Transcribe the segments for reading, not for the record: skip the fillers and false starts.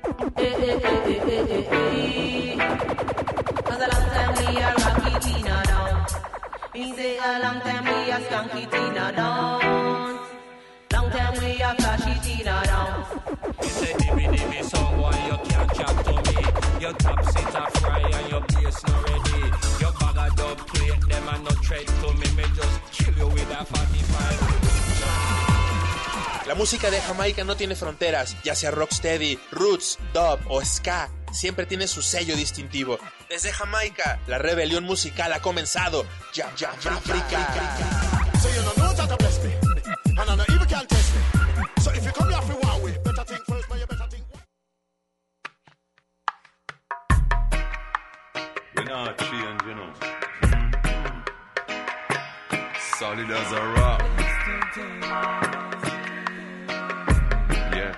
Cause a long time we a rocky Tina down. Me say a long time we a skanky Tina down. Long time we a flashy Tina down. You say dimmy someone you can't chat to me. Your top sit a fry and your bass not ready. Your bag a dub plate them and no tread to me. Me just kill you with a 45. La música de Jamaica no tiene fronteras, ya sea rocksteady, roots, dub o ska, siempre tiene su sello distintivo. Desde Jamaica, la rebelión musical ha comenzado. Ya, África. So you know that I bless me, and I know even can't test me. So if you come here for one way, better think first, but you better think. We're not change, you know. Solid as a rock. Yes.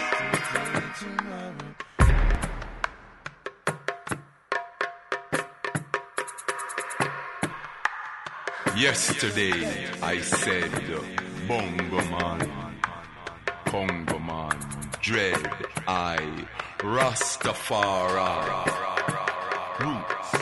Yesterday I said Bongo Man, Congo Man, Dread Eye, Rastafari, Roots.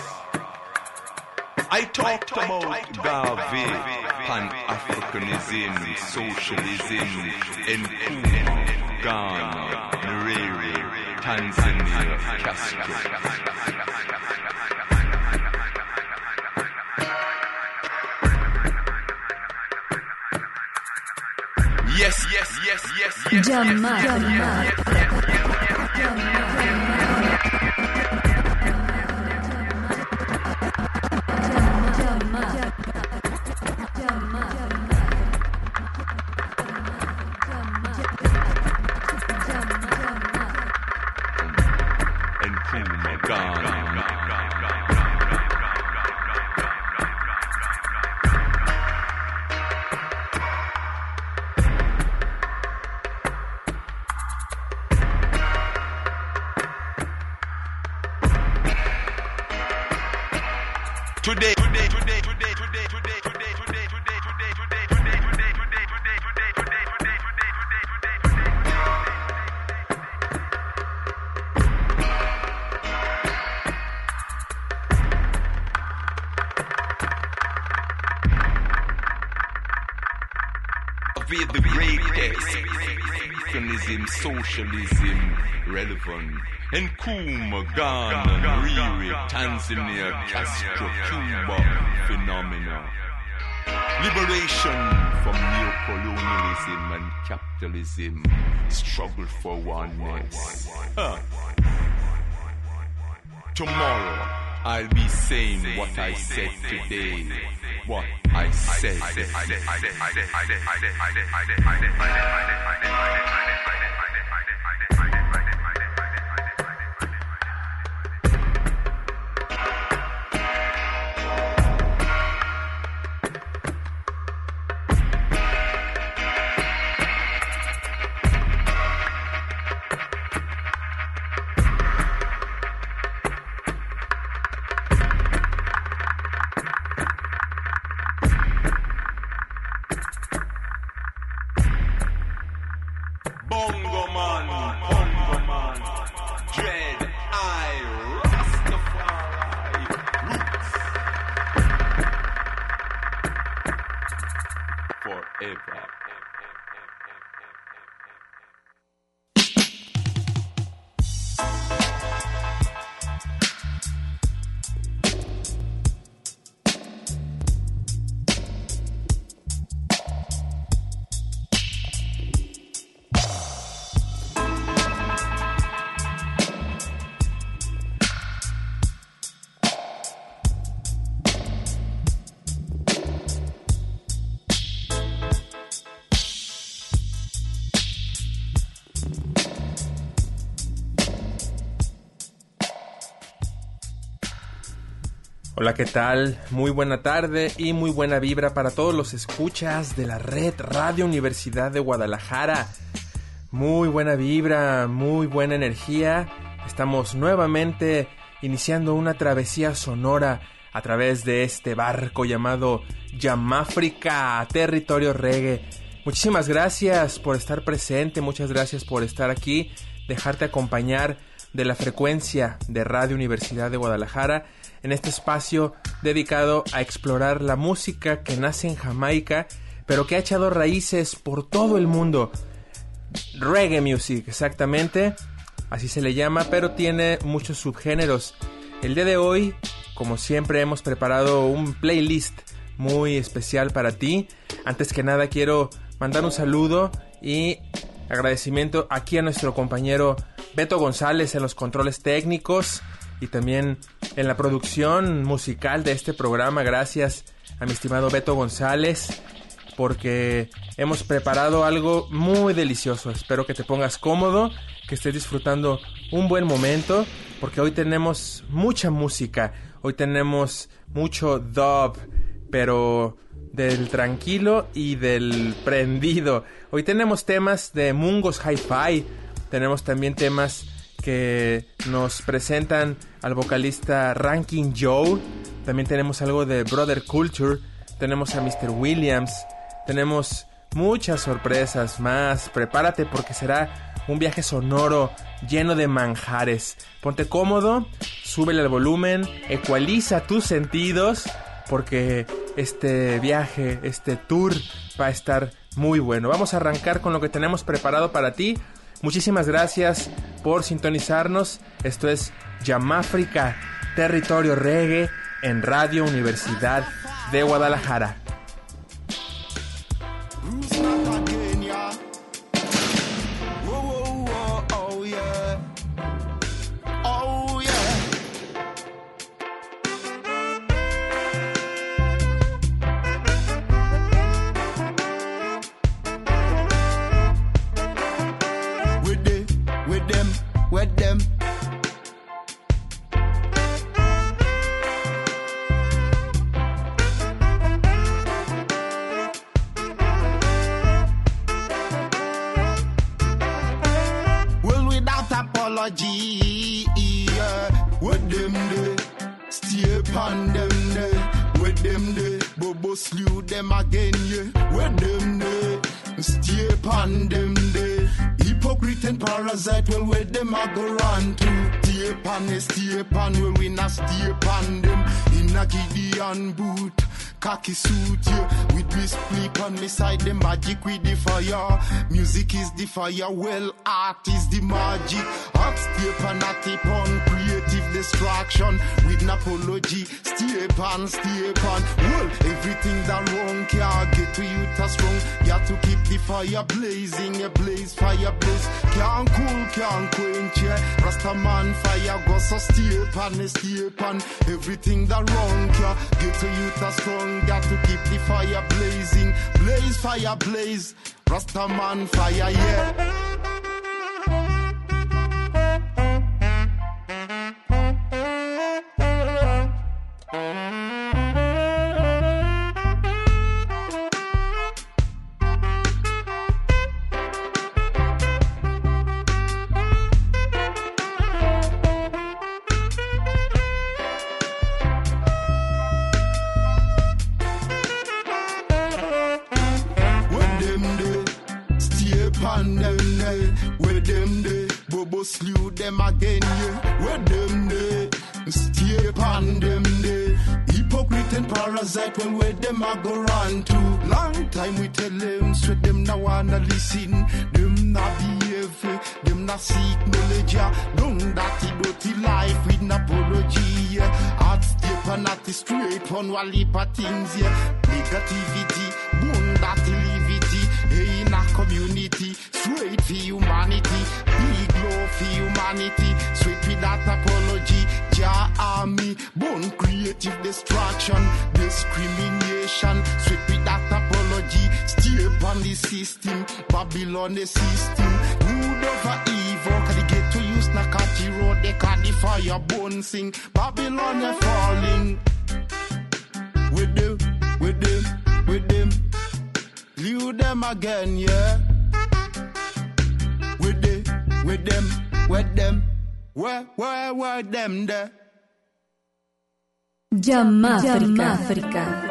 I talked about Garvey, Pan-Africanism, Socialism, Nkrumah, Ghana, Nyerere, Tanzania, Castro. Yes. The greatest Africanism, socialism, relevant. Nkrumah, Ghana, Nyerere, Tanzania, Castro, Cuba, phenomena. Liberation from neocolonialism and capitalism. Struggle for oneness. Tomorrow, I'll be saying what I said today. What I said. Hola, ¿qué tal? Muy buena tarde y muy buena vibra para todos los escuchas de la red Radio Universidad de Guadalajara. Muy buena vibra, muy buena energía. Estamos nuevamente iniciando una travesía sonora a través de este barco llamado Yamáfrica, territorio reggae. Muchísimas gracias por estar presente, muchas gracias por estar aquí dejarte acompañar de la frecuencia de Radio Universidad de Guadalajara en este espacio dedicado a explorar la música que nace en Jamaica, pero que ha echado raíces por todo el mundo. Reggae music, exactamente, así se le llama, pero tiene muchos subgéneros. El día de hoy, como siempre, hemos preparado un playlist muy especial para ti. Antes que nada quiero mandar un saludo y agradecimiento aquí a nuestro compañero Beto González en los controles técnicos y también en la producción musical de este programa. Gracias a mi estimado Beto González, porque hemos preparado algo muy delicioso. Espero que te pongas cómodo, que estés disfrutando un buen momento, porque hoy tenemos mucha música. Hoy tenemos mucho dub, pero del tranquilo y del prendido. Hoy tenemos temas de Mungos Hi-Fi. Tenemos también temas que nos presentan al vocalista Ranking Joe. También tenemos algo de Brother Culture. Tenemos a Mr. Williams. Tenemos muchas sorpresas más. Prepárate porque será un viaje sonoro lleno de manjares. Ponte cómodo, súbele al volumen, ecualiza tus sentidos, porque este viaje, este tour va a estar muy bueno. Vamos a arrancar con lo que tenemos preparado para ti. Muchísimas gracias por sintonizarnos. Esto es Yamáfrica, territorio reggae en Radio Universidad de Guadalajara. With them. Well, without apology, with them they stay upon them they, with them they Bobo slew them again, yeah. With them they stay upon them they. Hypocrite and parasite, well, where them a go run to? Stay upon, well, we not stay upon them. In a Gideon boot, khaki suit, yeah. With me split on me side, the magic with the fire. Music is the fire, well, art is the magic. Art stay upon, not upon, creative destruction. With an apology, stay upon. Well, everything that wrong can't get to you, that's strong. Got to keep the fire blazing, a blaze, fire blaze. Can't cool, can't quench, yeah. Rastaman fire go so stay upon. Everything that wrong can't get to you, that's strong. Got to keep the fire blazing, blaze, fire blaze. Rastaman fire, yeah. Slew them again, yeah. Where them they stay upon them they. Hypocrite and parasite, well, where them a go run to? Long time we tell them, straight them now wanna listen. Them not behave, them not seek knowledge, yeah. Don't dirty life with an apology, yeah. Heart stay upon not straight on walipa things, yeah. Negativity, boom, dirty levity. Hey, in a community, straight for humanity. Big love for humanity, straight with that apology. Jah army, born creative destruction, discrimination, straight with that apology. Stay upon the system, Babylon the system. Good over evil, can they get to use Nakati road, they can the fire bone sing. Babylon are falling. With them. Leave them again, yeah. With them. Where them there? Yamáfrica.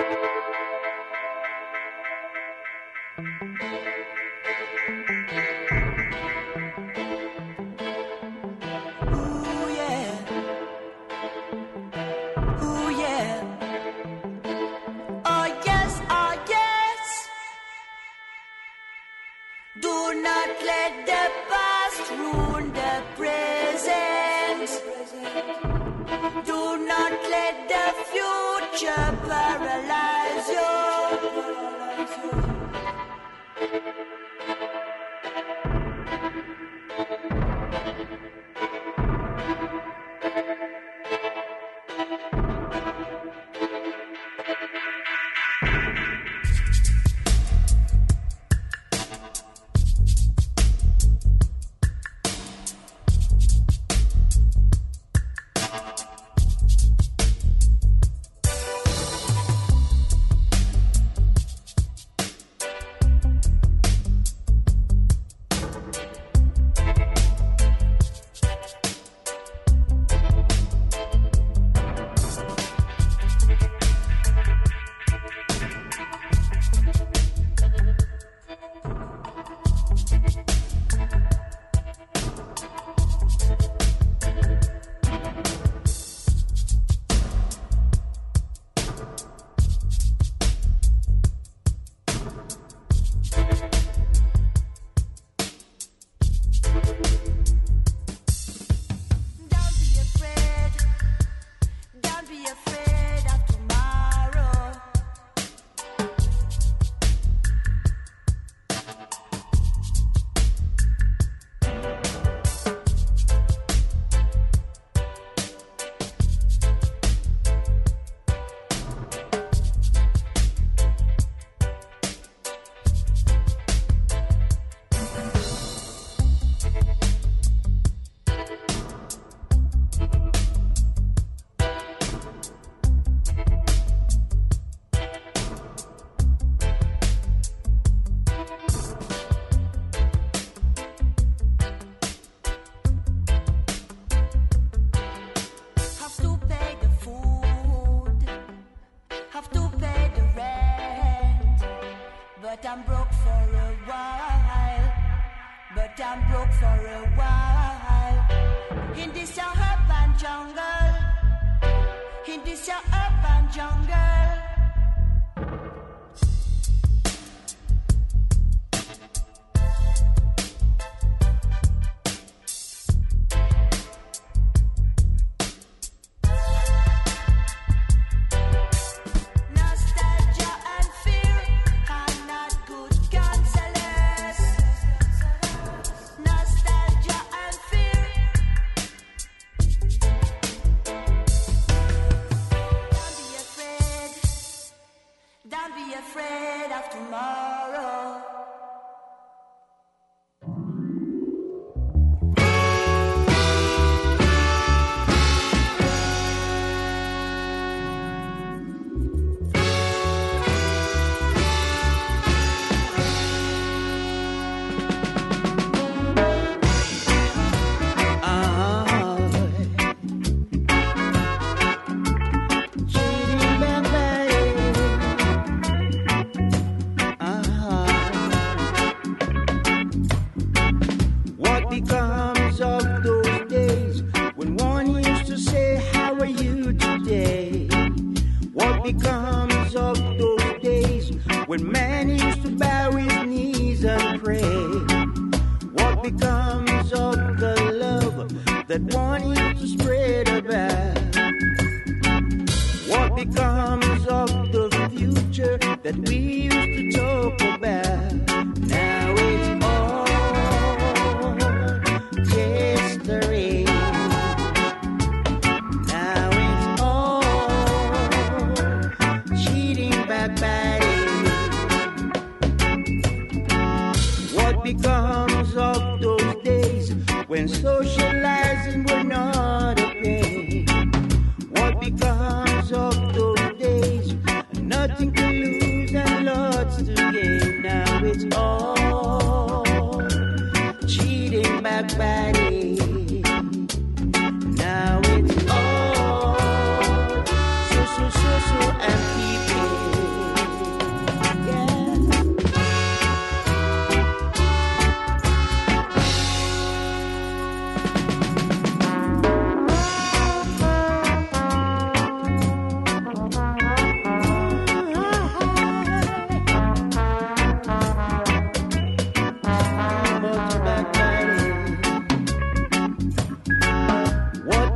Nothing to lose and lots to gain. Now it's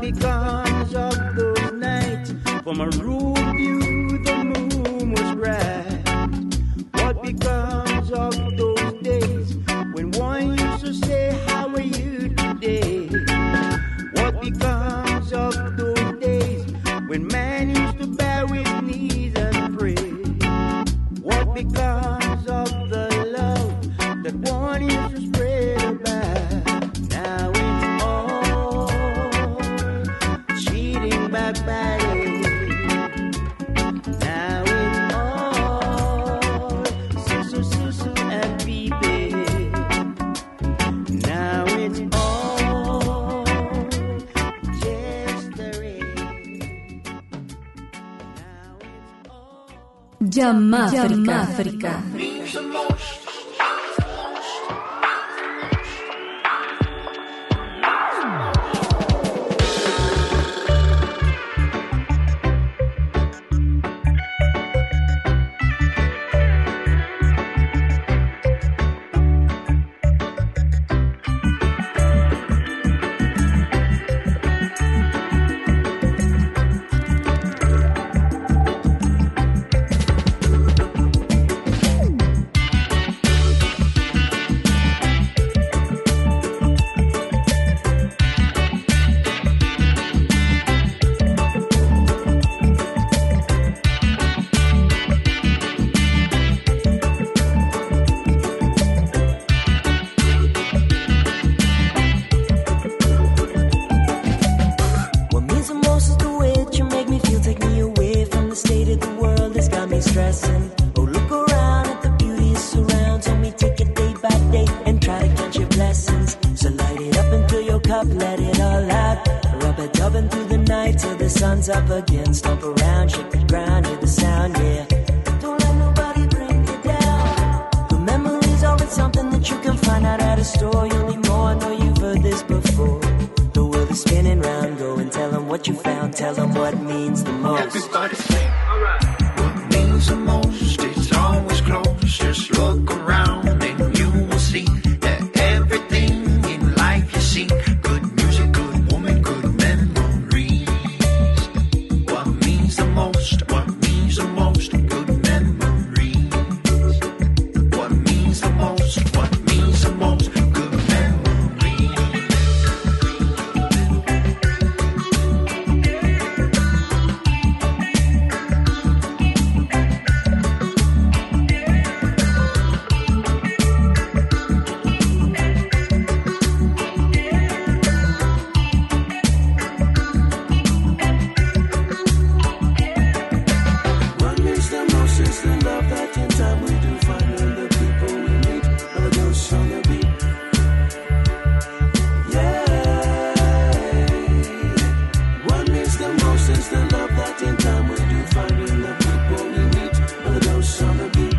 becomes of those nights? From a roof view, the moon was bright. What becomes of those days when one used to say, how are you today? What becomes of those days when man used to bow his knees and pray? What becomes of the love that one used to spread about? Now it's all cheating backbiting. Now it's all susu and peeping. Now it's all just a rain. Now it's all Jamaica. stressing. Oh, look around at the beauty it surrounds. Only take it day by day and try to count your blessings. So light it up and fill your cup, let it all out. Rub it dubbing through the night till the sun's up again. Stomp around, shake the ground, hear the sound, yeah. Don't let nobody bring you down. The memories are something that you can find out at a store. You'll need more, I know you've heard this before. The world is spinning round, go and tell them what you found. Tell them what means the most. Everybody sing. Alright. What means the most, it's always close. Just look around and you will see that everything in life you see. Good music, good woman, good memories. What means the most, what means the most, good memories. What means the most, what means the most, good memories. What means the most is the love that in time we do find in the people we meet. Another dose on the beat. Yeah. What means the most is the love that in time we do find in the people we meet. Another dose on the beat.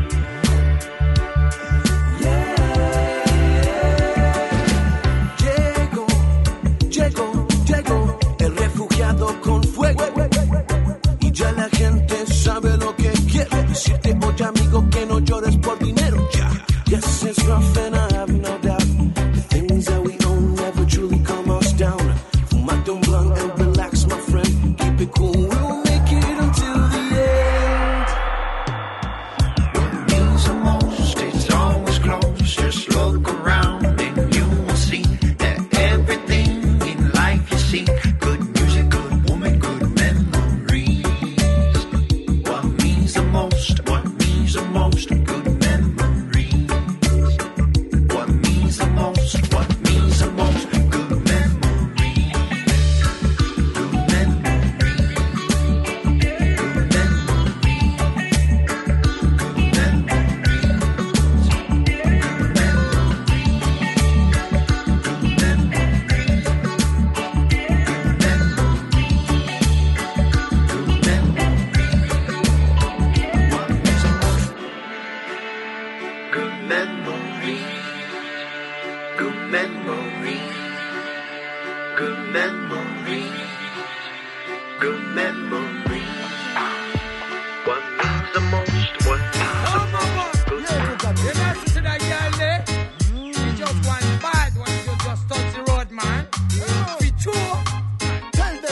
Llegó el refugiado con fuego. Y ya la gente sabe lo que quiere. Decirte, oye amigo, que no llores por dinero. Ya, yes, it's rough and I have no doubt. The things that we own never truly calm us down. Fumate un blunt and relax, my friend. Keep it cool, we'll make it until the end. What means the most, it's always close. Just look around and you will see that everything in life you see. Good music, good woman, good memories. What means the most, what means the most, good memories. What means the most, what means the most, good memories. Good memories. Good memories. Good memories. What means the most, what means the most, good memories. You listen to that girl there? She just one bad one, you just touch the road, man. Be true. Tell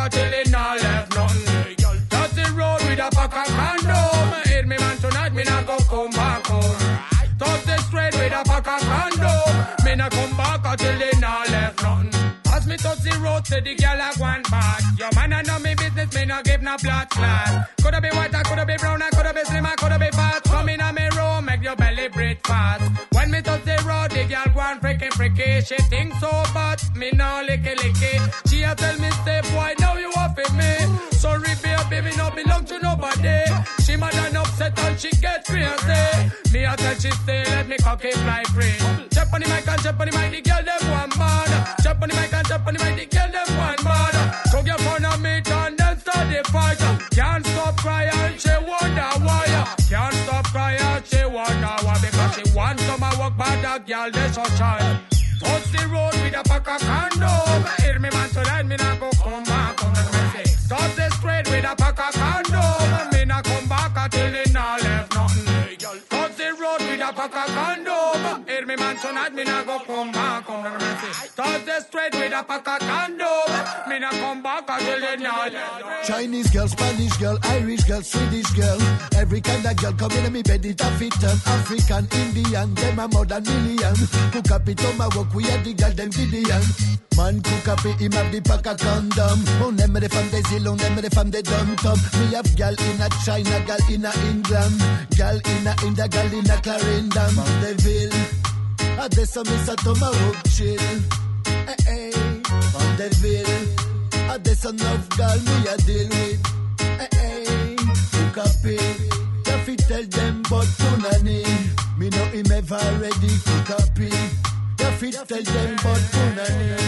back till it not left nothing. Touch the road with a pack of condom. Hit me man tonight, me not go come back home. Touch the straight with a pack of condom. Me not come back until it not left nothing. As me touch the road, say the girl a one bad. Your man a know me business, me no give no blood clot. Coulda be white, coulda be brown, coulda be slim, coulda be fat. Come in a me room, make your belly breathe fast. When me touch the road, the girl go on freaky. She think so bad, me no licky. She a tell me, say boy, now you off with me. Sorry baby, me no belong to nobody. She mad and upset and she get crazy. Me a tell she say, let me cocky fly free. Jump on the mic and jump on the mic, the girl them one mad. Jump on the mic and jump on the mic, the girl them one mad. So your phone on me and then start the fight. Can't stop crying, she wonder why. Can't stop crying, she wonder why. Because she wants some work, but that girl they so shy. Touch the road with a pack of condom. Hear me man tonight, me not go come back. Touch the straight with a pack of condom. Me not come back until it not left nothing. Touch the road with a pack of condom. Hear me man tonight, me not go come back. Touch the straight with a pack of condom. Me not come back until it not left nothing. Chinese girl, Spanish girl, Irish girl, Swedish girl. Every kind of girl come in me bed it a fit them. African, Indian, them a more than million. Cook up it on my work, we are the girl them Gideon. Man cook up it, him have the pack of condom. On them the fam they zil, on them the fam they dum tum. Me have girl in a China, girl in a England, girl in a India, girl in a Clarendon. Mondeville, I des some miss a tomahawk chill. Hey, Mondeville, I des some enough girl me a deal with. Hey, cook up it. If you tell them but punani, me know him ever ready cook up it. If you tell them but punani.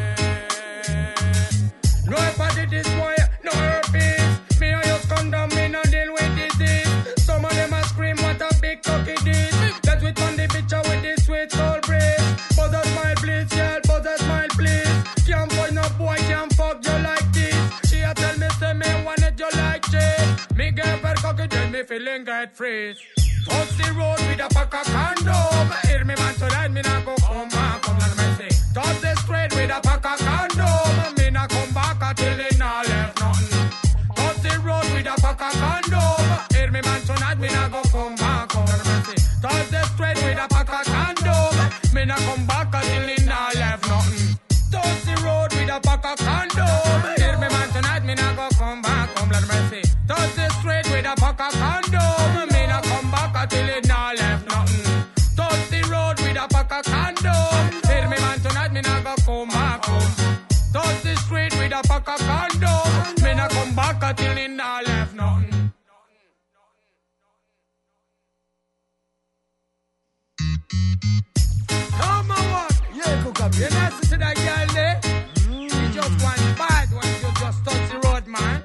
No hepatitis boy, no herpes. Me I use condom, me no deal with disease. Some of them a scream what a big cocky this. That's with on the picture with this sweet soul breeze. Buzz a smile please, girl, buzz a smile please. Can't find no boy, can't fuck you like this. She a tell me say me want it you like this. Me get her cocky then me feeling get freeze. Touch the road with a pack of condom. Hear me man tonight, me not go come back. Come on me say. Touch the straight with a pack of condom. Me not come back until it not left nothing. Touch the road with a pack of condom. Hear me man tonight, me not go come back. Come on me say. Touch the straight with a pack of condom. Me not come back until it not left nothing. Touch the road with a pack of condom. Hear me man tonight, me not go come back. Come on me say. Touch the straight with a pack of condom. Me not come back until it not left nothing. Touch the road with a pack of condom. Hear me man tonight, me not go come back home. Touch the street with a pack of condom. Me not come back until it not left nothing. Come on, what? Yeah, cook up. You not see that girl there? You just one bad one. You just touch the road, man.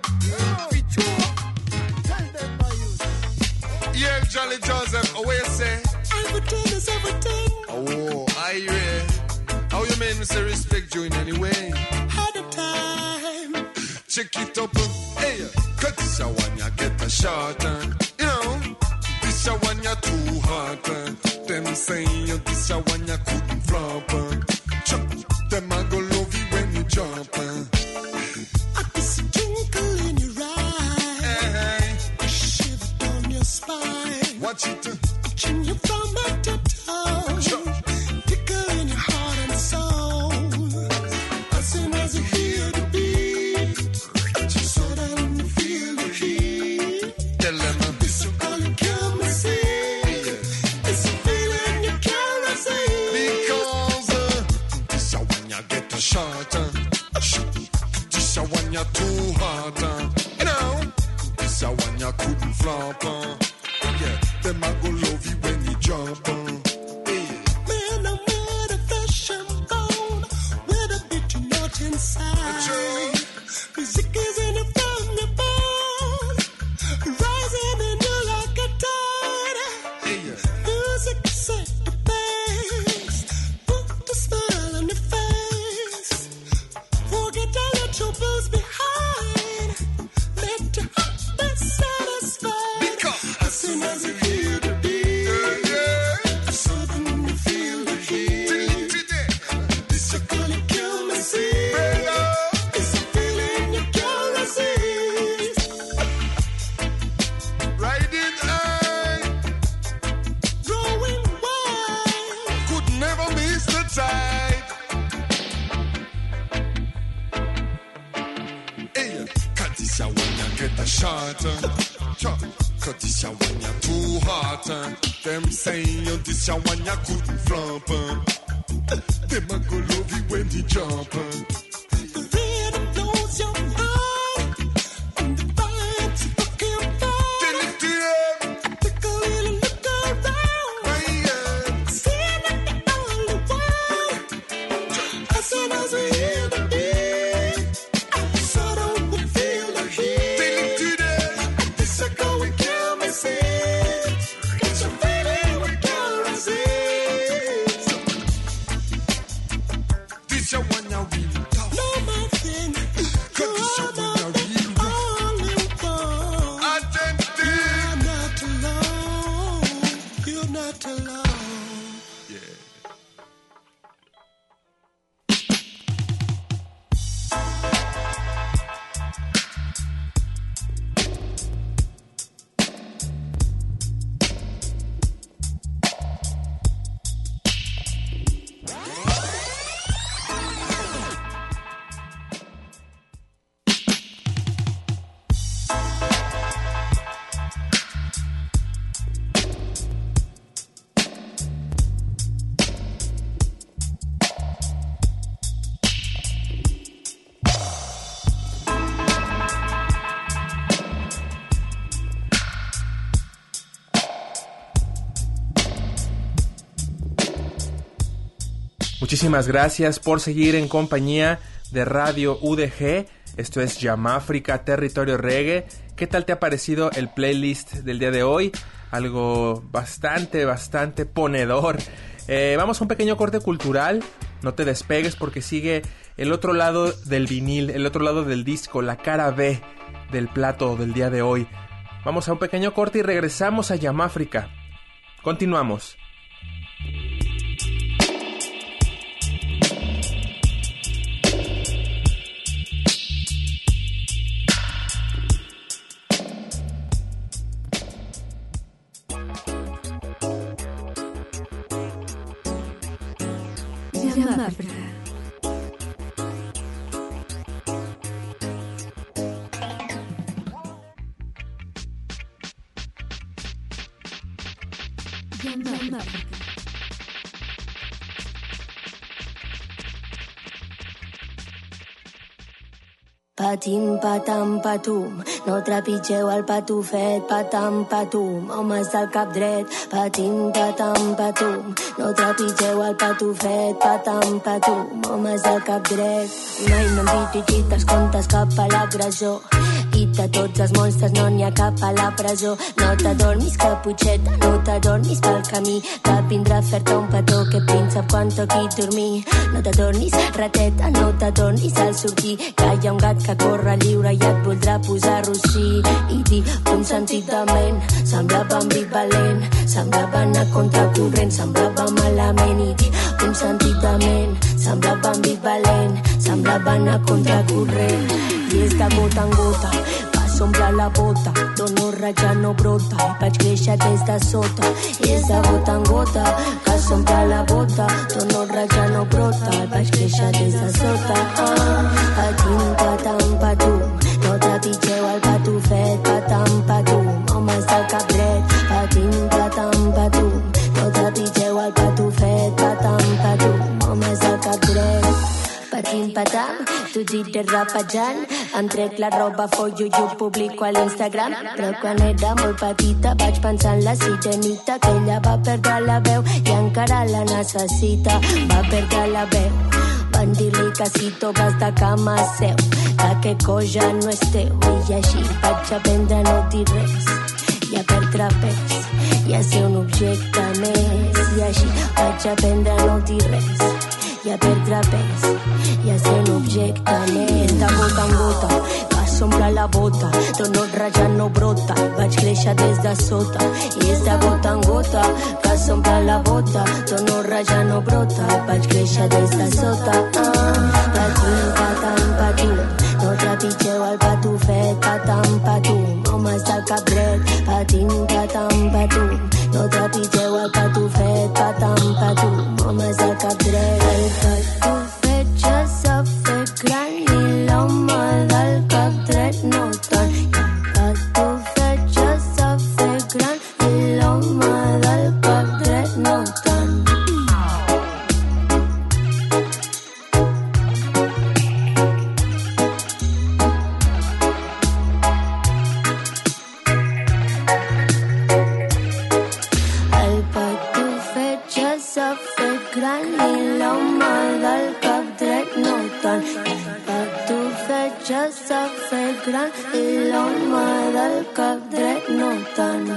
Yeah, Jolly Joseph, away say. Everything is everything. Oh, I how you mean me say respect you in any way? Had a time. Check it up, hey, cut this a one ya get a shot, you know. This a one ya too hot, them say you this a one ya couldn't flop, them a go love you when you jump. I can see a twinkle in your eye, a shiver down your spine. Watch it, watching you from head to toe, tickle in your heart and soul. As soon as you hear the beat, just so that you feel the heat. Tell them this you call it chemistry. It's a feeling you can't resist. Because this a one ya get a shot, this a one ya too hot, you know. This a one ya couldn't flop, yeah. Them a go love you when you jump, Man, I'm with a flesh and bone, with a bit of nut inside. Music is in it from your bone, rising in you like a tide. Music set the pace, put the smile on your face. Forget all your troubles behind, let your heart be satisfied. As soon as you hear the beat, so then you feel the heat. This you call it chemistry. It's a feeling you can't short. Cause this a one ya too hot. Them saying you this a one ya couldn't flump. Them a go love you when you jump. The rhythm blows your mind, and the vibes you fucking find. Tell it to them. Take a little look around. See that they all the while. As soon as we hear the beat, so don't we feel the heat. Tell it to them. This a going kill me sick. It's a feeling we can't resist. This a one ya real tough. No my thing. Cause this a one ya real rough. Identity. You're not alone. You're not alone. Yeah. Muchísimas gracias por seguir en compañía de Radio UDG. Esto es Yamáfrica, Territorio Reggae. ¿Qué tal te ha parecido el playlist del día de hoy? Algo bastante ponedor. Vamos a un pequeño corte cultural. No te despegues porque sigue el otro lado del vinil, el otro lado del disco, la cara B del plato del día de hoy. Vamos a un pequeño corte y regresamos a Yamáfrica. Continuamos. Yamáfrica. Patim, patam, patum, no trepitgeu el patufet, patam, patum, homes del cap dret. Patim, patam, patum, no trepitgeu el patufet, patam, patum, homes del cap dret. Mai no hem dirigit els comptes cap a l'agressor, i de tots els monstres no n'hi ha cap a la presó. No t'adormis, caputxeta, no t'adormis pel camí, que vindrà a fer-te un petó, que príncep quan toqui dormir. No t'adormis, rateta, no t'adormis al sortir, que hi ha un gat que corre lliure i et voldrà posar rossí. I dir consentidament, semblava ambivalent, semblava anar contracorrent, semblava malament. I dir consentidament, semblava ambivalent, semblava anar contracorrent. I és de gota en gota que s'omple la bota, d'honor ja no brota, i vaig créixer des de sota. I és de gota en gota que s'omple la bota, d'honor ja no brota, i vaig créixer des de sota. Patim, patam, patum, no trepitgeu el patufet, patam, patum, homes del cap dret. Patim, patam, patum, no trepitgeu el patufet, patam, patum, homes del cap dret. Patim, patam, tu gires rapejant, em trec la roba, follo i ho publico a l'Instagram. Però quan era molt petita vaig pensar en la sirenita, que ella va perdre la veu i encara la necessita. Va perdre la veu, van dir-li que si toves de cama seu, que aquest cos ja no és teu. I així vaig aprendre a no dir res, i a perdre pes, i a ser un objecte més. I així vaig aprendre a no dir res, i a perdre pes, i a ser un objecte més. De gota en gota que s'omple la bota, d'honor ja no brota, vaig créixer des de sota. I és de gota en gota que s'omple la bota, d'honor ja no brota, vaig créixer des de sota. Patim, patam, patum, no trepitgeu el patufet, patam, patum, homes del cap dret. Patim, patam, patum, no trepitgeu el patufet, patam, patum, homes del cap dret. El patufet ja s'ha fet gran i l'home del cap dret no tant. El gran i l'home del cap dret no tant.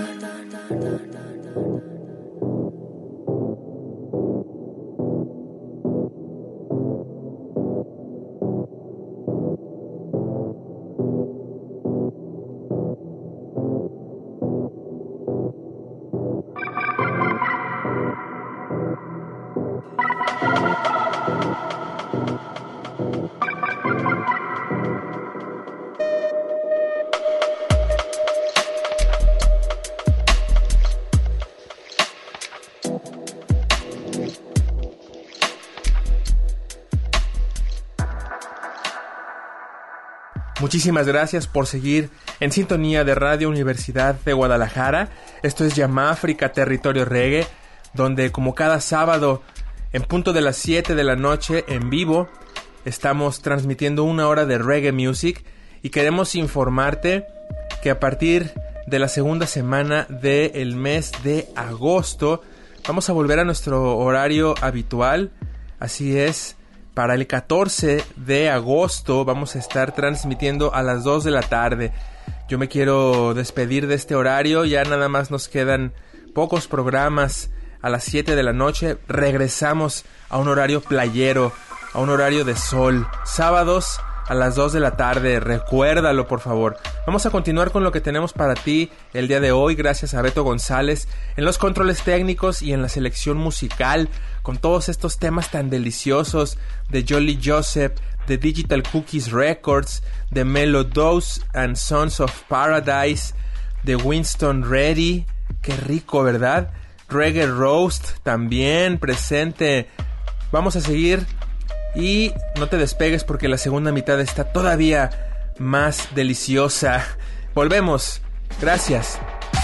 Muchísimas gracias por seguir en sintonía de Radio Universidad de Guadalajara. Esto es Yamáfrica, Territorio Reggae, donde como cada sábado, en punto de las 7 de la noche, en vivo, estamos transmitiendo 1 hora de reggae music y queremos informarte que a partir de la segunda semana del mes de agosto vamos a volver a nuestro horario habitual. Así es. Para el 14 de agosto vamos a estar transmitiendo a las 2 de la tarde. Yo me quiero despedir de este horario. Ya nada más nos quedan pocos programas a las 7 de la noche. Regresamos a un horario playero, a un horario de sol. Sábados a las 2 de la tarde. Recuérdalo, por favor. Vamos a continuar con lo que tenemos para ti el día de hoy. Gracias a Beto González en los controles técnicos y en la selección musical, con todos estos temas tan deliciosos de Jolly Joseph, de Digital Cookies Records, de Melo Dose and Sons of Paradise, de Winston Reddy. Qué rico, ¿verdad? Reggae Roast también presente. Vamos a seguir y no te despegues porque la segunda mitad está todavía más deliciosa. Volvemos. Gracias.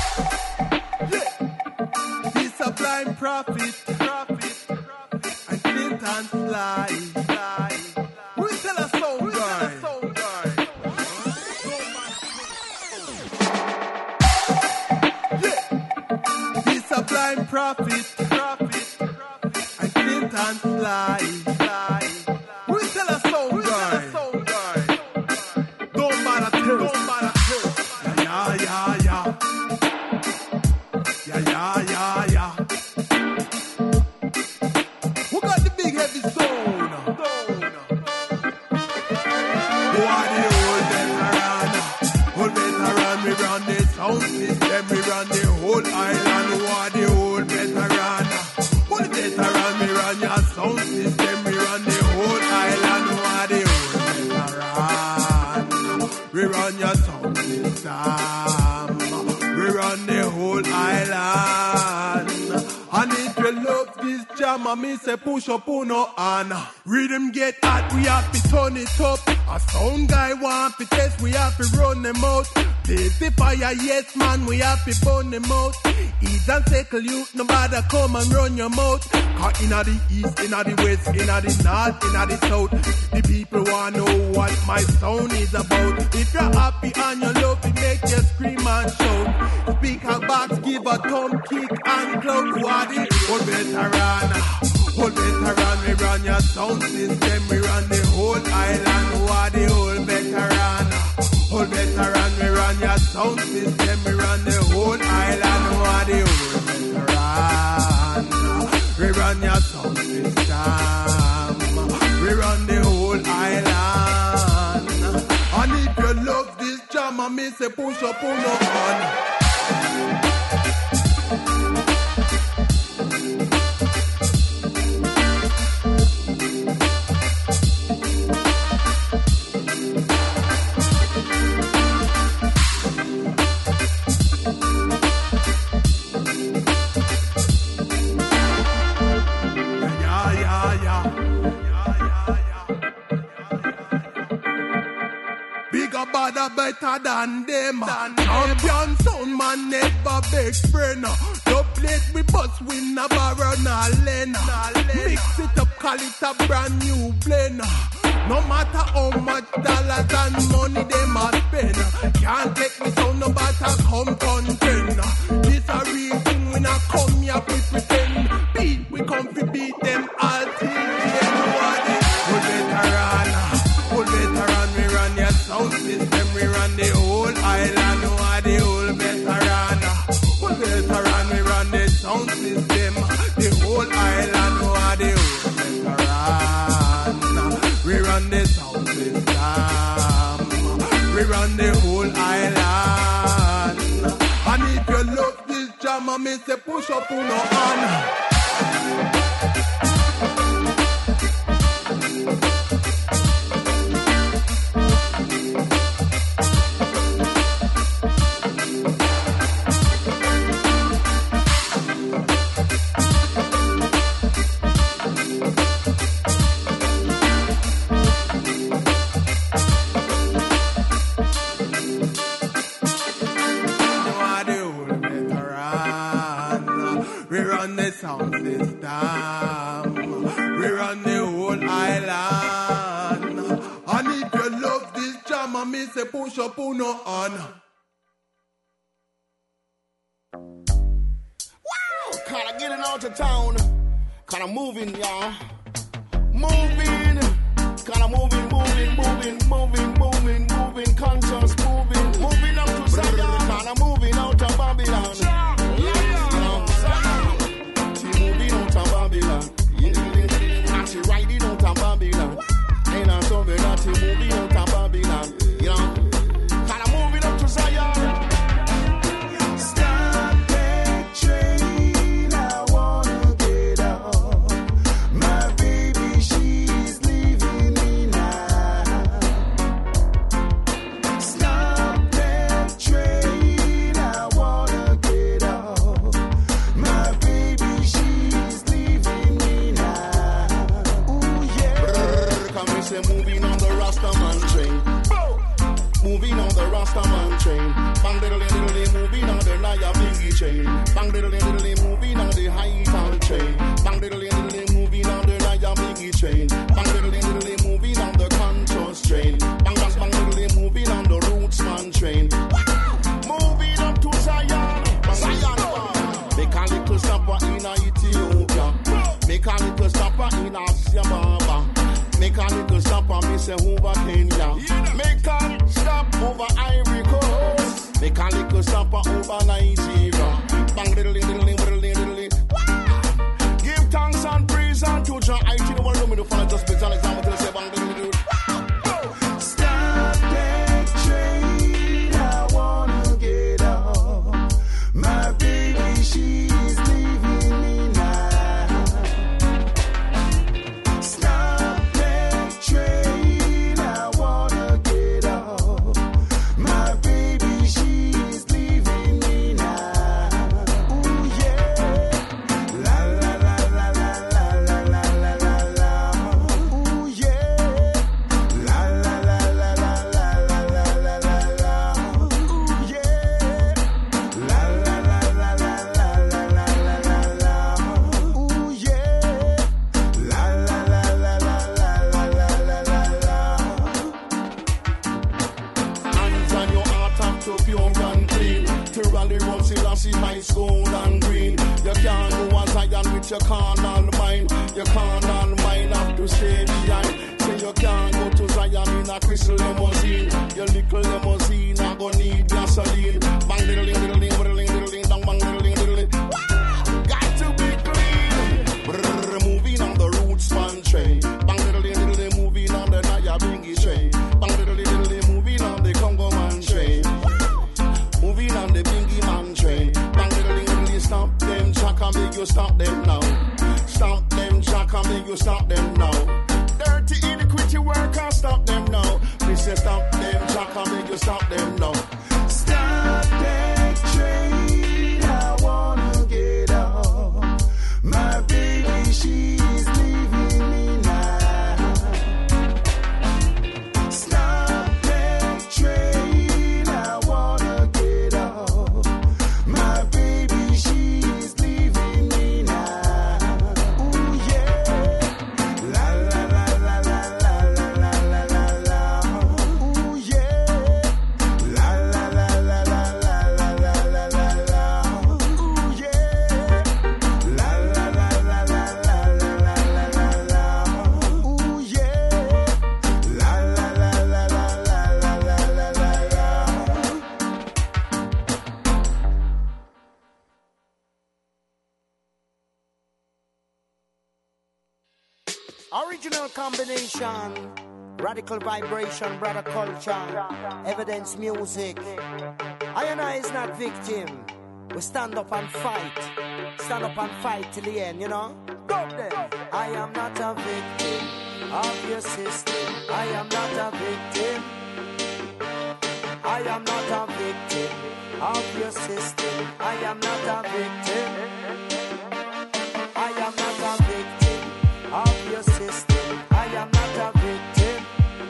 Prophet, and Clinton fly. Who tell us so, guy? Don't bother tell us. Yeah. Who got the big heavy stone? Who are the old veteran? We run the sound system, we run the whole island. Who are the old veteran? Whole veteran, we run your sound system, we run the whole island. Who are the old veteran? We run your sound system, we run the whole island. And if you love this jam, I me say push up on no hand. Rhythm get hot, we have to turn it up. A sound guy want to test, we have to run them out. Blaze the fire, yes man, we have to burn them out. Ease and tackle you, nobody come and run your mouth. Cause inna the east, inna the west, inna the north, inna the south, the people want know what my sound is about. If you're happy and you love it, make you scream and shout. Speaker box, give a thumb kick and clout. Who are the old veteran? Old veteran, we run your sound system, we run the whole island. Who are the old veteran? Old veteran, we run your sound system, we run the whole island. Who are the old veteran? We run your sound system, we run the whole island. And if you love this jam, I me say push up on your hand. Better than them. Champion sound man never beg friend. No plate we bust we never run a lane. Mix it up, call it a brand new blend. No matter how much dollars and money they must spend, can't take me sound no matter come contend. This a real thing, we not come here we pretend. Beat we come to beat them all till the end. Old veteran, we run your sound system, we run sound system. The whole island are the whole veteran. We run the sound system. We run the whole island. And if you love this jam, I may say push up on your hand. Sound system. We run the whole island. And if you love this jam, I may say push up on your hand. Wow! Kinda getting out of town. Kinda moving, y'all. Moving. Kinda moving. Conscious moving. Moving up to Zion. Kinda moving out of Babylon. She riding out of Babylon. Ain't I so bad that she moving out of Babylon. You know, kinda moving up to Zion. Stop that train, I wanna get off. My baby, she's leaving me now. Stop that train, I wanna get off. My baby, she's leaving me now. Say moving on the Rastaman train. Moving on the Rastaman train. Bang diddly diddly, moving on the Naya Biggie chain. Bang diddly diddly, moving on the High Town train. Bang diddly diddly, moving on the Naya Biggie train. Bang diddly diddly, moving on the Contours train. Bang bang bang diddly, moving on the Rootsman train. Moving up to Zion. Zion. Make a little stopper in Ethiopia. Make a little stopper in Addis Ababa. Make a little stop and me say over Kenya. Make a stop over Ivory Coast. Make a little stop over Nigeria. Bang diddly diddly diddly diddly. Give thanks and praise unto Jah. I think the world know me to follow just an example to say bang diddly diddly. Stop that train, I wanna get off. My baby, she's leaving me now. Stop train, I wanna get off. My baby, she's leaving me now. Ooh yeah, la la la la la la la la la la la. Ooh yeah, la la la la la la la la la la la. Ooh yeah, la la la la la la la la la la la. Ooh yeah, la la la la la la la la la la. Hands on your heart and to pure and clean. To rally road, Selassie, high school and green. You can't go as Zion with your carnal mind. Your carnal mind have to stay behind. Say you can't go to Zion in a crystal limousine. Your little limousine, I go need gasoline. Bang diddly diddly diddly diddly, dong bang diddly diddly. Got to be clean. Brrr, moving on the Rootsman train. Bang diddly diddly, moving on the Naya Bingy train. Bang diddly diddly, moving on the Congo man train. Moving on the Bingy man train. Bang diddly diddly, stop them, Jack, and make you stop them now. Stop them, Jack, and make you stop them now. Dirty iniquity workers, stop them now. Me say stop them, Jack, and make you stop them now. Stop that train, I wanna get off. My baby, she's leaving me now. Stop that train, I wanna get off. My baby, she's leaving me now. Ooh yeah, la la la la la la la la la la. Ooh yeah, Original combination, radical vibration, brother culture, evidence music. I and I is not victim. We stand up and fight till the end, you know. Go there. I am not a victim of your system. I am not a victim. I am not a victim of your system. I am not a victim. I am not a victim of your system. I am not a victim.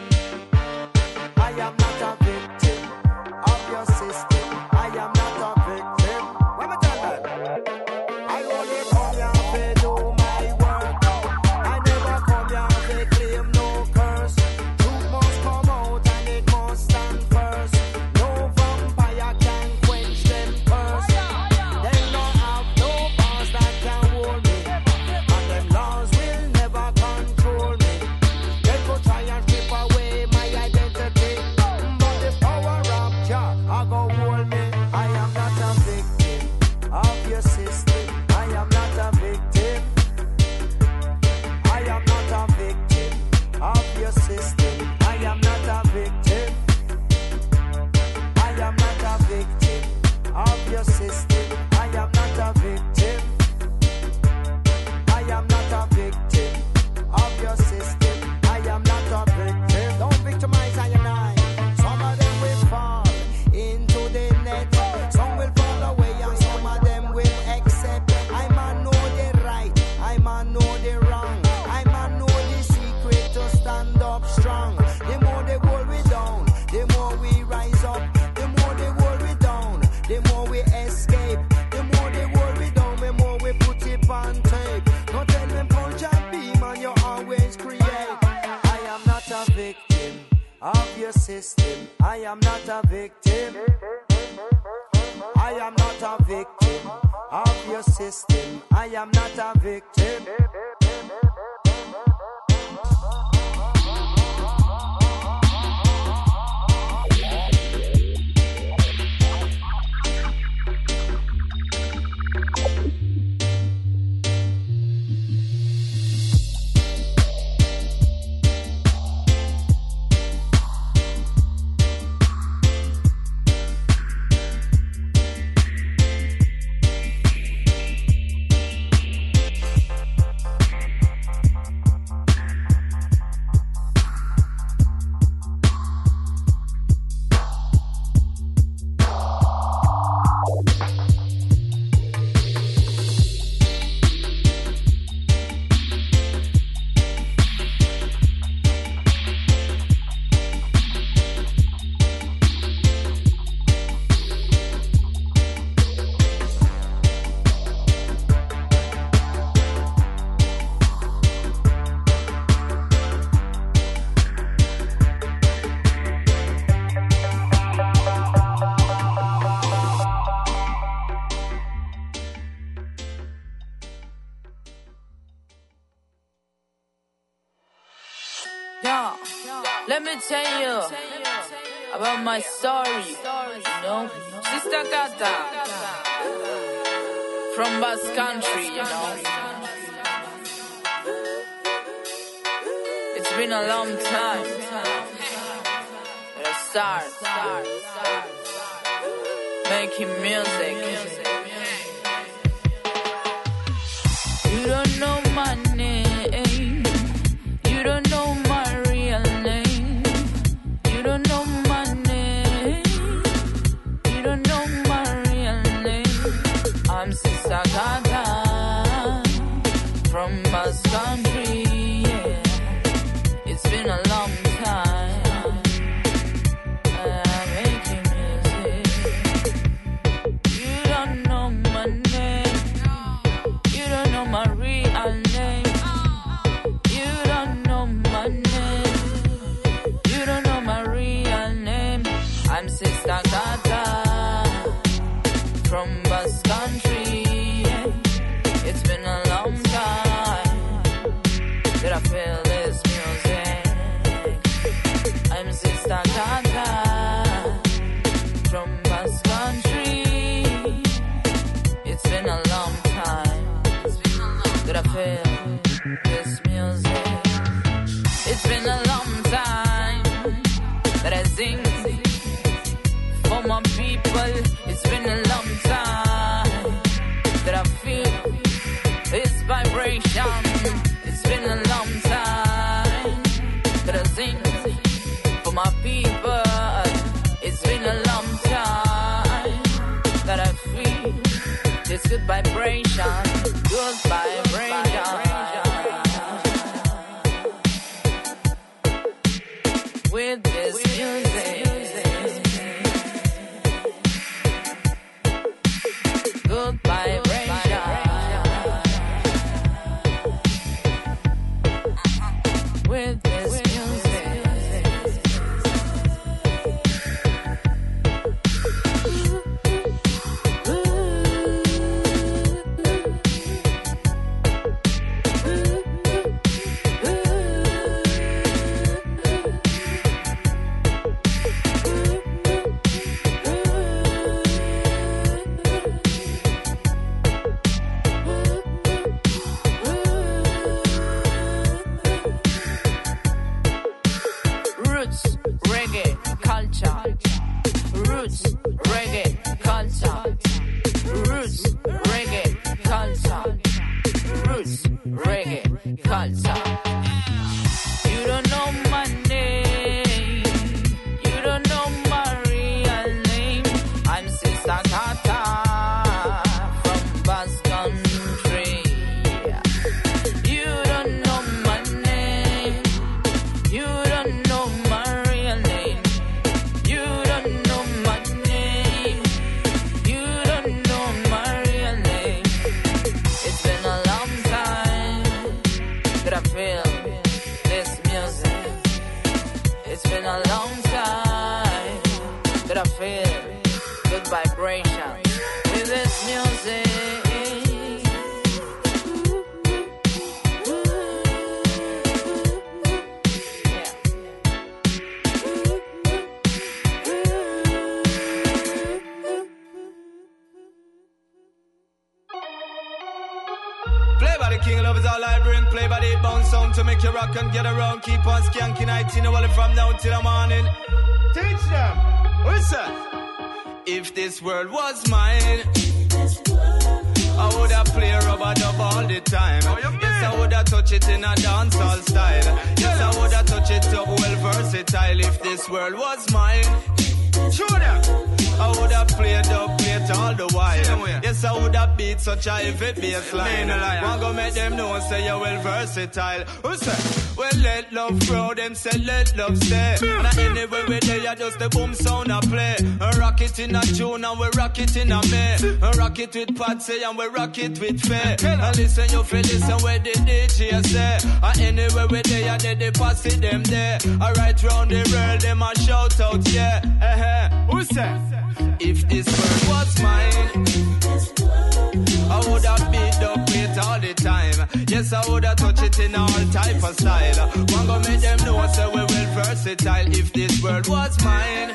I am not a victim of your system. I am not a victim. What am I telling that? I only come here to do my work. I never come here to claim no curse. Truth must come out and it must stand first. No vampire can quench them curse. They don't have no powers that can hold me, and them laws will never control me. They go try and strip away my identity, but the power of Jah I go hold me. I am not a victim of your system. I am not a victim. I am not a victim of your system. I am not a victim. I am not a victim of your system. I am not a victim. I am not a victim of your system. I am not a victim. Don't victimize I and I. Some of them will fall into the net. Some will fall away and some of them will accept. I man know the right. I man know the wrong. I man know the secret to stand up strong. The more they hold we down, the more we rise up. The more they hold we down, the more we escape. The more they hold we down, the more we put it on tape. Don't tell them punch and beam and you always create. I am not a victim of your system. I am not a victim. I am not a victim of your system. I am not a victim. Yeah, let me tell you about my story, you know. Sister Kata from Basque Country, you know. It's been a long time that I start making music. You don't know my name, you don't know my real name, you don't know my name, you don't know my real name. I'm Sister Gata from Basque Country, yeah. It's been a long time I'm making music. You don't know my name, you don't know my real name, you don't know my name, you don't know my real name. I'm Sister Gata from Basque Country, yeah. It's been a long time that I feel this music. I'm Sister Gata from Basque Country. It's been a long time that I feel this music. It's been a long time that I sing for my people. It's been a long time that I feel this vibration. It's been a long time that I sing for my people. It's been a long time that I feel this good vibration. Good vibration. With this music, good vibration. With this music. And get around, keep on skanking 19 hours from now till the morning. Teach them. What's that? If this world was mine, I would have play rubber dub all the time. Yes, I would have touch it in a dancehall style. Yes, I would have touch it up well versatile. If this world was mine, sure that I would have played up, played all the while. Yes, I would have beat such a heavy bass line. Want go make them know, say you're well versatile. Who say? Well, let love grow, them say let love stay. And anywhere we there, just the boom sound I play. Rock it in a June and we rock it in a May. Rock it with Patsy and we rock it with Faye. And listen, you feel listen where the DJ say. And anywhere we there, they pass it them there. Right round the world, them a shout out, yeah. Who say? If this world was mine, I would have beat up it all the time. Yes, I would have touched it in all type of style. One go make them know, say we well versatile. If this world was mine,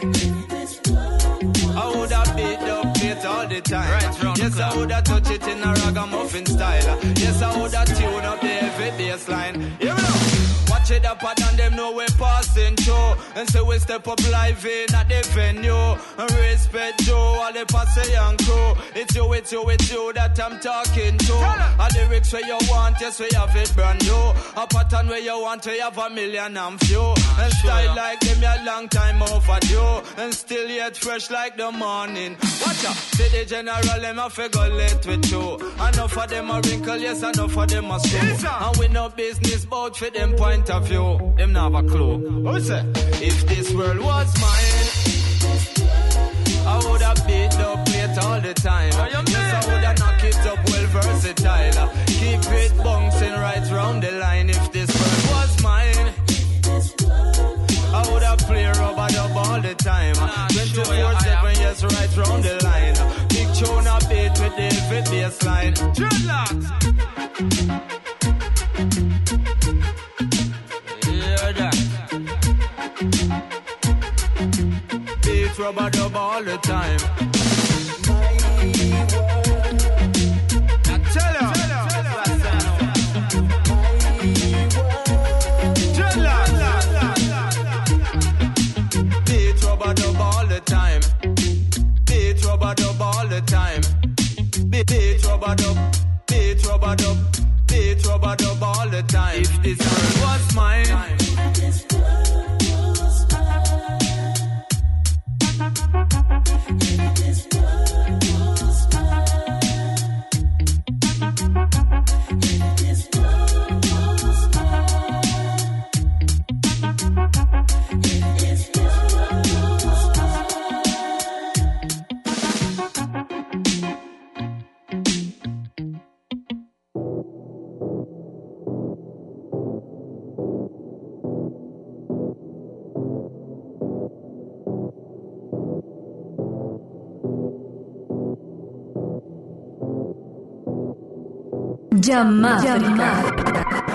I would have beat up it all the time. Yes, I would have touched it in a ragamuffin style. Yes, I would have tuned up the heavy bass line. Here we go. Watch it up and them know we're passing through. And so we step up live in at the venue. And respect you, all the posse and crew. It's you that I'm talking to. A lyrics where you want, yes, we have it brand new. A pattern where you want, we have 1,000,000 and few. And style like them, a long time overdue. And still yet fresh like the morning. Watch out, see the general, them a figure late with you. Enough of them a wrinkle, yes, enough of them a screw. And we no business bout for them point of view. Them not have a clue. Who say? If this world was mine, I would have beat up plate all the time. Yes, I would have knocked it up well versatile. Keep it bouncing right round the line. If this world was mine, I would have played rubber dub all the time. 24/7, yes, right round the line. Big tune a beat with the heavy bass line. Dreadlocks. Hear that? Beat rubber dub all the time. I tell you. Dreadlocks. rubber dub, beat rubber dub all the time. If this world was mine, this world was mine. If this world was mine. If this world was mine. If this world was mine. Jamaica.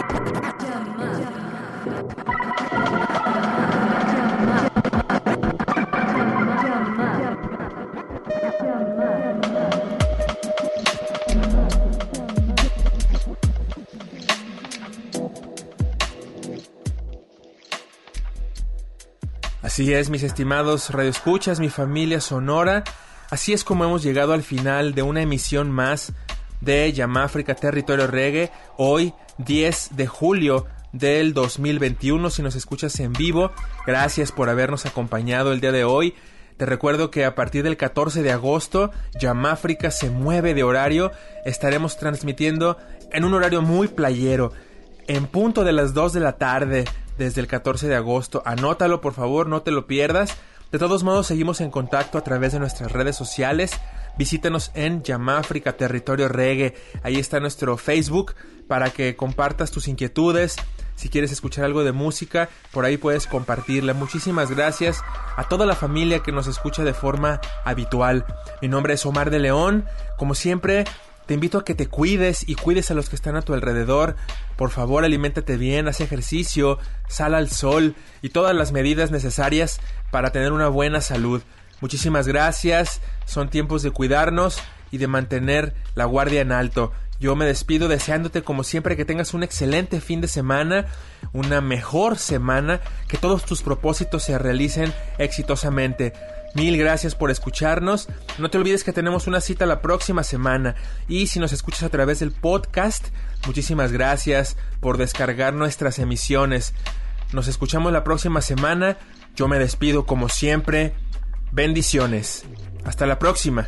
Así es, mis estimados radioescuchas, mi familia sonora. Así es como hemos llegado al final de una emisión más de Yamáfrica Territorio Reggae. Hoy, 10 de julio del 2021, si nos escuchas en vivo, gracias por habernos acompañado el día de hoy. Te recuerdo que a partir del 14 de agosto, Yamáfrica se mueve de horario. Estaremos transmitiendo en un horario muy playero, en punto de las 2 de la tarde, desde el 14 de agosto. Anótalo, por favor, no te lo pierdas. De todos modos, seguimos en contacto a través de nuestras redes sociales. Visítanos en Yamáfrica Territorio Reggae. Ahí está nuestro Facebook para que compartas tus inquietudes. Si quieres escuchar algo de música, por ahí puedes compartirla. Muchísimas gracias a toda la familia que nos escucha de forma habitual. Mi nombre es Omar de León. Como siempre, te invito a que te cuides y cuides a los que están a tu alrededor. Por favor, aliméntate bien, haz ejercicio, sal al sol y todas las medidas necesarias para tener una buena salud. Muchísimas gracias. Son tiempos de cuidarnos y de mantener la guardia en alto. Yo me despido deseándote como siempre que tengas un excelente fin de semana, una mejor semana, que todos tus propósitos se realicen exitosamente. Mil gracias por escucharnos. No te olvides que tenemos una cita la próxima semana. Y si nos escuchas a través del podcast, muchísimas gracias por descargar nuestras emisiones. Nos escuchamos la próxima semana. Yo me despido como siempre. Bendiciones. Hasta la próxima.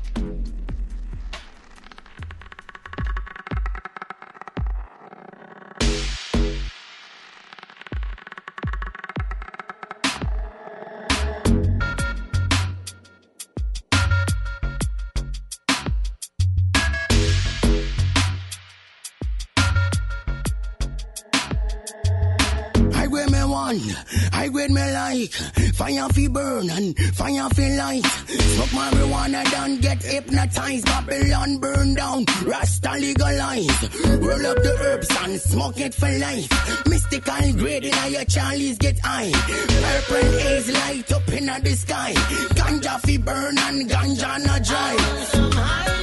I grade me like fire fi burn and fire fi light. Smoke marijuana, don't get hypnotized. Babylon burn down, Rasta legalize. Roll up the herbs and smoke it for life. Mystical grade in your Charlie's get high. Purple haze light up in the sky. Ganja fi burn and ganja na dry.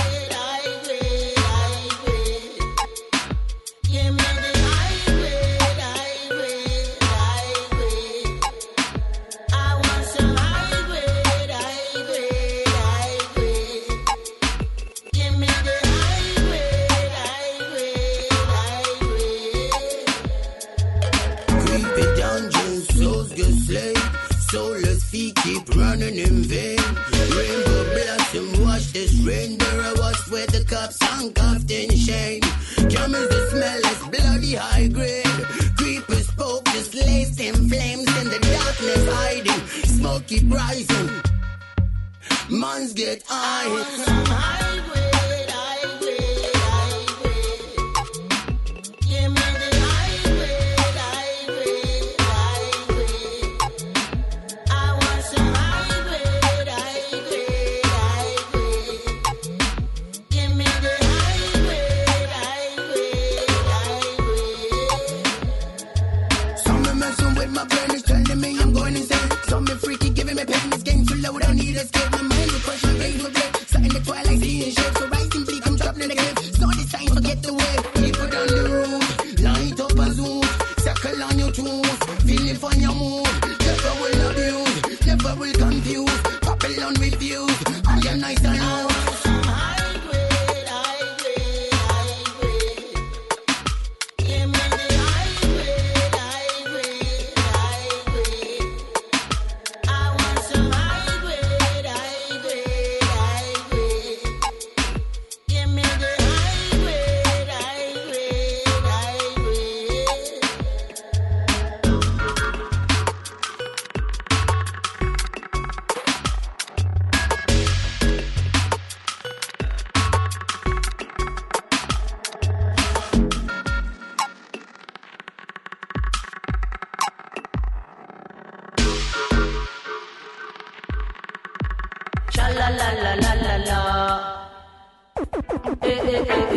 Soulless feet keep running in vain. Rainbow blossom wash this rain. There I was where the cups handcuffed in shame. Camels the smell is bloody high grade. Creepers poke just laced in flames. In the darkness hiding, smoke keep rising. Mans get high. Freaky, giving me pain, this game too loud, I need escape. My mind will crush my veins with blood. Sat in the twilight, seeing shit.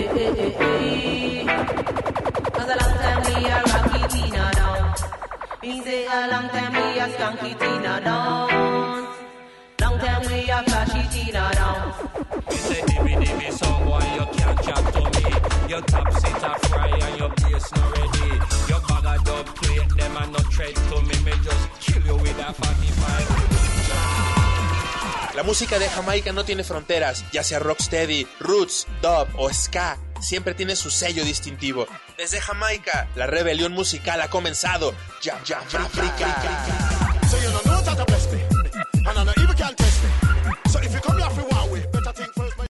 Cause a long time we a rock it in a down. Me say a long time we a skunk it in a down. Long time we a flash it in a down. You say dibby someone you can't chat to me. Your top sit a fry and your bass not ready. Your bag of dub plate them and not tread to me. Me just kill you with a 45. La música de Jamaica no tiene fronteras, ya sea rocksteady, roots, dub o ska, siempre tiene su sello distintivo. Desde Jamaica, la rebelión musical ha comenzado. Jam Africa. So you know that I bless me.